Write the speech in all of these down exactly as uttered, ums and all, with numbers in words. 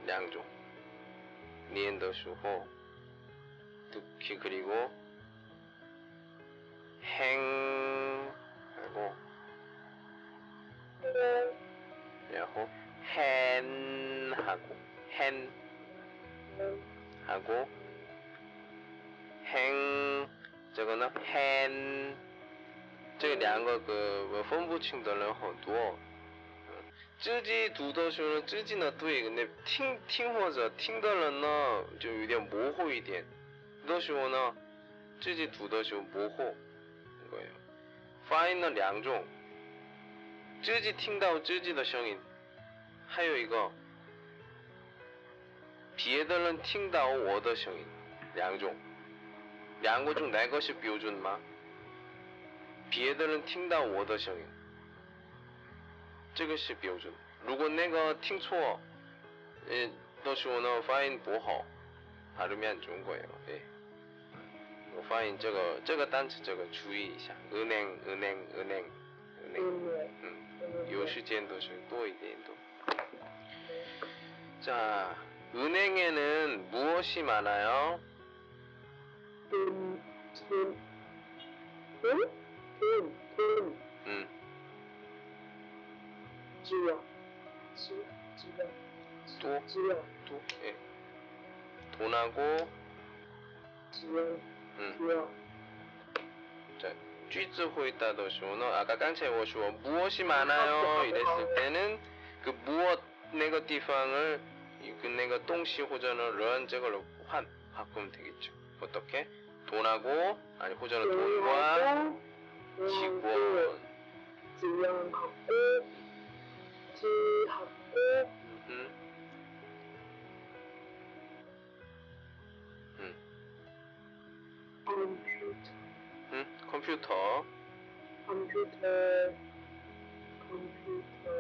两种念的时候 특히 그리고 행 하고然后 hen 하고 hen 하고 행 这个呢 hen 这两个个分不清的人很多自己读的时候自己呢对那听听或者听的人呢就有点模糊一点的时候呢自己读的时候模糊거예요发音呢两种自己听到自己的声音还有一个别的人听到我的声音两种两个中哪个是标准吗别的人听到我的声音这个是标准如果那个听错的时候呢发音不好 발음이 안 좋은 거예요. 예. 파인 这个这个单词这个注意一下 은행 은행 은행 은행 음, 요 시간도 좀多一点더. 자, 은행에는 무엇이 많아요? 돈, 돈, 돈, 돈, 돈. 음. 지역, 지역, 지역. 또, 지역. 또, 예. 돈하고 지역, 음. 지역. 자, 句子回答的时候呢 아까 刚才我说 무엇이 많아요 이랬을 때는 그 무엇 那个地方을 그那个东西或者呢人这个换 바꾸면 되겠죠. 어떻게? 돈하고 아니 호전은 돈과 직원 직원하고 지하고 음. 음. 컴퓨터 음, 컴퓨터 컴퓨터 컴퓨터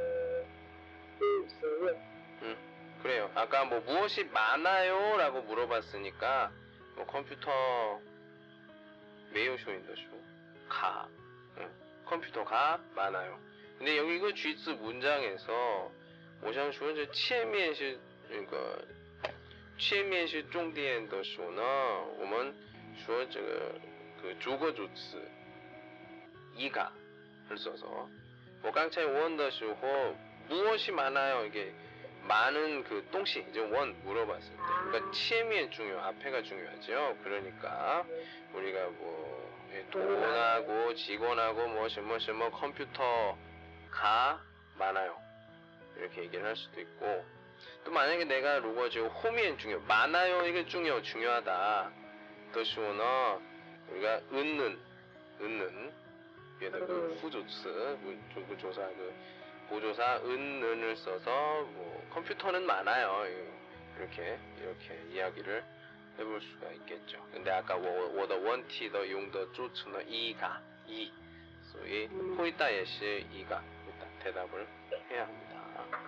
있어요. 음, 그래요. 아까 뭐 무엇이 많아요? 라고 물어봤으니까 뭐 컴퓨터 매우 쇼인더쇼 가 응? 컴퓨터가 많아요. 근데 여기 그 쥐즈 문장에서 我想说这前面是那个前面是重点的时候呢我们说这个그 주거 주词 이가 를 써서 뭐刚才问的时候 무엇이 많아요? 이게 많은 그 동시 이제 원 물어봤을 때 그러니까前面 중요 앞에가 중요하죠. 그러니까 우리가 뭐 돈하고 직원하고 뭐什么什么 컴퓨터가 많아요. 이렇게 얘기를 할 수도 있고 또 만약에 내가 如果就后面 중요 많아요 이게 중요 중요하다. 더 시원은 우리가 은는 은는 얘도 그 부조词 그 조사 그 보조사 은는을 써서 뭐 컴퓨터는 많아요. 이렇게 이렇게 이야기를 해볼 수가 있겠죠. 근데 아까 我的问题的用的主词呢 이가 이, 所以 回答也是 이가 일단 대답을 해야 합니다.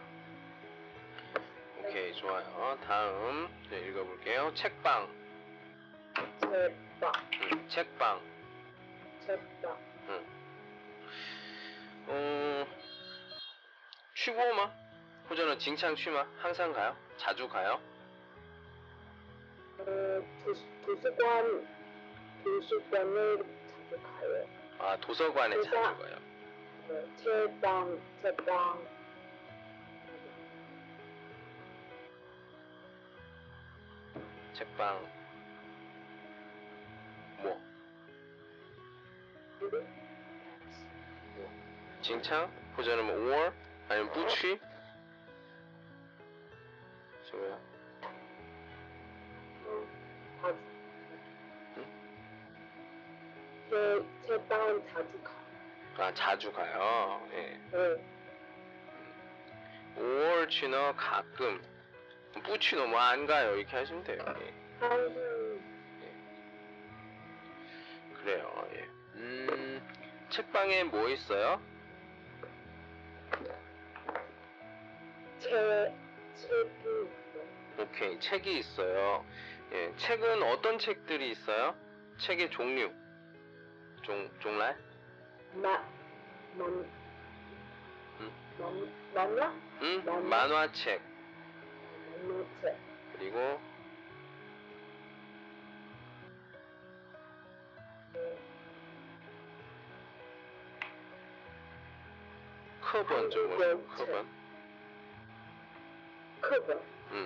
오케이 좋아요. 다음 네, 읽어볼게요. 책방 책방 응, 책방 책방 응. 어, 去过吗? 호전은 징창 취마 항상 가요? 자주 가요? 어, 도서, 도서관 도서관을 자주 가요. 아 도서관에 도서, 자주 가요. 네, 책방 책방 책방 뭐? 뭐? 징창? 호전은 뭐 or? 아니면 부취? 저거야? 어, 자주 응? 제 책방은 자주 가. 아 자주 가요. 예. 네. or 취는 가끔 부취는 뭐 안 가요. 이렇게 하시면 돼요. 예. 항상 예. 그래요. 예. 음, 책방에 뭐 있어요? 책 책이 있어요. 오케이, 책이 있어요. 예, 책은 어떤 책들이 있어요? 책의 종류. 종, 종랄? 마, 만, 응? 만, 만화? 응? 만화? 만화책. 만화책. 영어책. 그리고 음, 课本怎么说？ 한국어 课本课本. 음.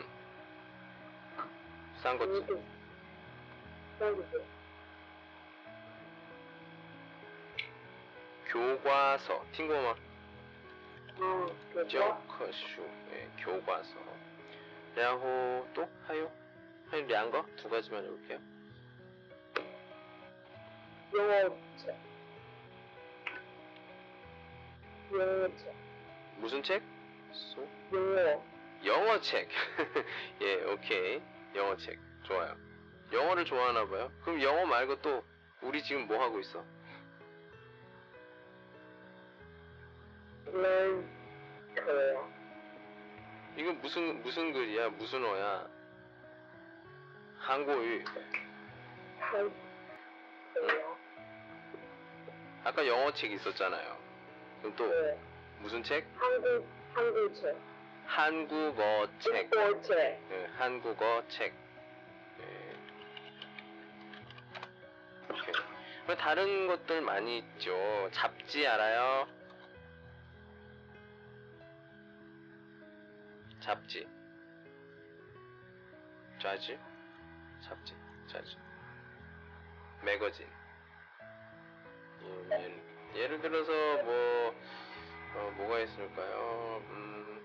싼거지. 음, 싼거지. 교과서. 听过吗？ 아, 그거? 教科书. 예, 교과서. 然后또 하요? 한两个? 두 가지만 해볼게요. 영어책. 영어책. 무슨 책? 소? 영어. 영어책. 예, 오케이. 영어책. 좋아요. 영어를 좋아하나 봐요. 그럼 영어 말고 또 우리 지금 뭐 하고 있어? learn Korea. 이거 무슨 무슨 글이야? 무슨 어야? 한국어. 한 Korea. 아까 영어책 있었잖아요. 그럼 또 네. 무슨 책? 한국 한국책. 한국어 책. 한국책. 네, 한국어 책. 네. 오케이. 뭐 다른 것들 많이 있죠. 잡지 알아요? 잡지. 자지? 잡지. 자지. 매거진. 예를, 예를 들어서 뭐 어, 뭐가 있을까요? 음,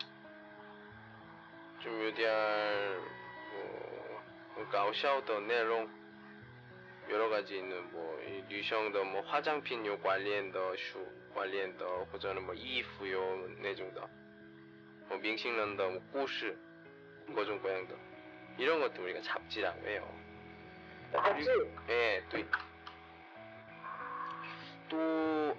좀 요디알 뭐 가오샤오더 내용 여러 가지 있는 뭐 류성의 뭐 화장품 요 관련的书관련的或者뭐衣服有那种的뭐明星人的 뭐故事各种各样的 이런 것들 우리가 잡지라고 해요. 잡지. 예, 또, 또,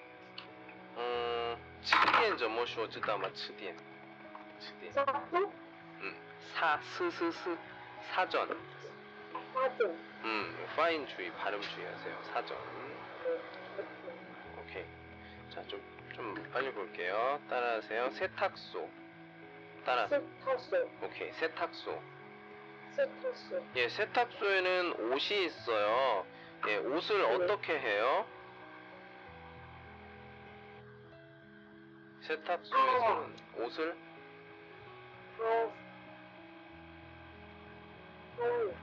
음, 词典怎么说知道吗？词典，词典， 사전. 음, 사, 스, 스, 스, 사전, 사전. 음, 파인 주의, 발음 주의하세요. 사전. 오케이. 자, 좀, 좀 빨리 볼게요. 따라하세요. 세탁소. 따라. 세탁소. 오케이, 세탁소. 세탁소. 예, 세탁소에는 옷이 있어요. 예, 옷을 네. 어떻게 해요? 세탁소에서는 옷을 하. 하라.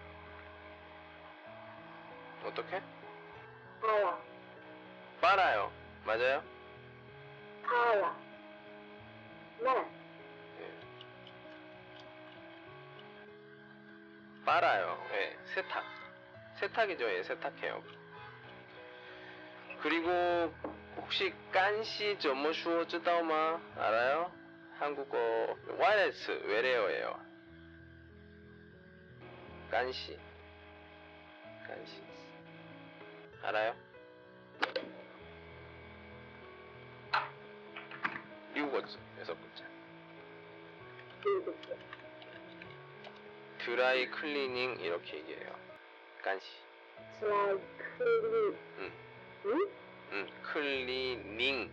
어떻게? 하라. 빨아요. 맞아요? 하라. 네. 예. 빨아요. 예, 세탁. 세탁이죠. 예, 세탁해요. 그리고 혹시 깐시 점뭐 슈어知道吗? 알아요? 한국어 와이레스 외래어예요. 깐시. 깐시. 알아요? 미국어죠. 여섯 번째. 일곱째. 드라이 클리닝 이렇게 얘기해요. 깐시. 드라이 클리. 응. 응? 응. 클리닝.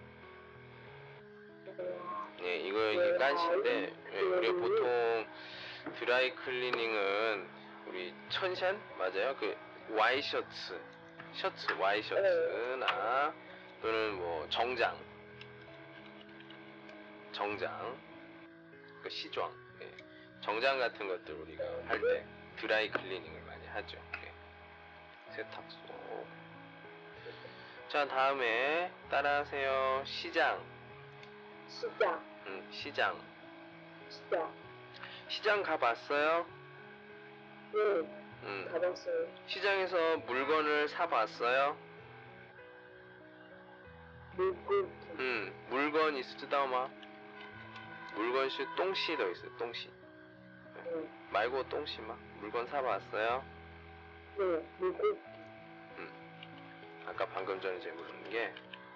와. 예, 이거 이게 깐시인데 예, 우리가 보통 드라이 클리닝은 우리 천샨 맞아요? 그 와이셔츠, 셔츠 와이셔츠나 또는 뭐 정장, 정장, 그 시装, 예, 정장 같은 것들 우리가 할 때 드라이 클리닝을 많이 하죠. 예. 세탁소. 자, 다음에 따라하세요. 시장. 시장. 음, 시장. 시장. 시장 가봤어요? 응. 음. 가봤어요. 시장에서 물건을 사봤어요? 물고기. 음, 물건 있으지다마 물건시 똥시도 있어요. 똥시. 응. 말고 똥시마. 물건 사봤어요? 네. 물고기. 아까 방금 전에 제가 물은 게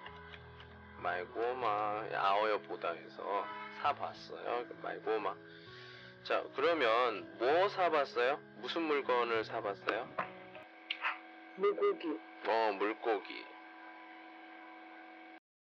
말고마 아어여 보다에서 사봤어요. 말고마. 자, 그러면 뭐 사봤어요? 무슨 물건을 사봤어요? 물고기. 어, 물고기.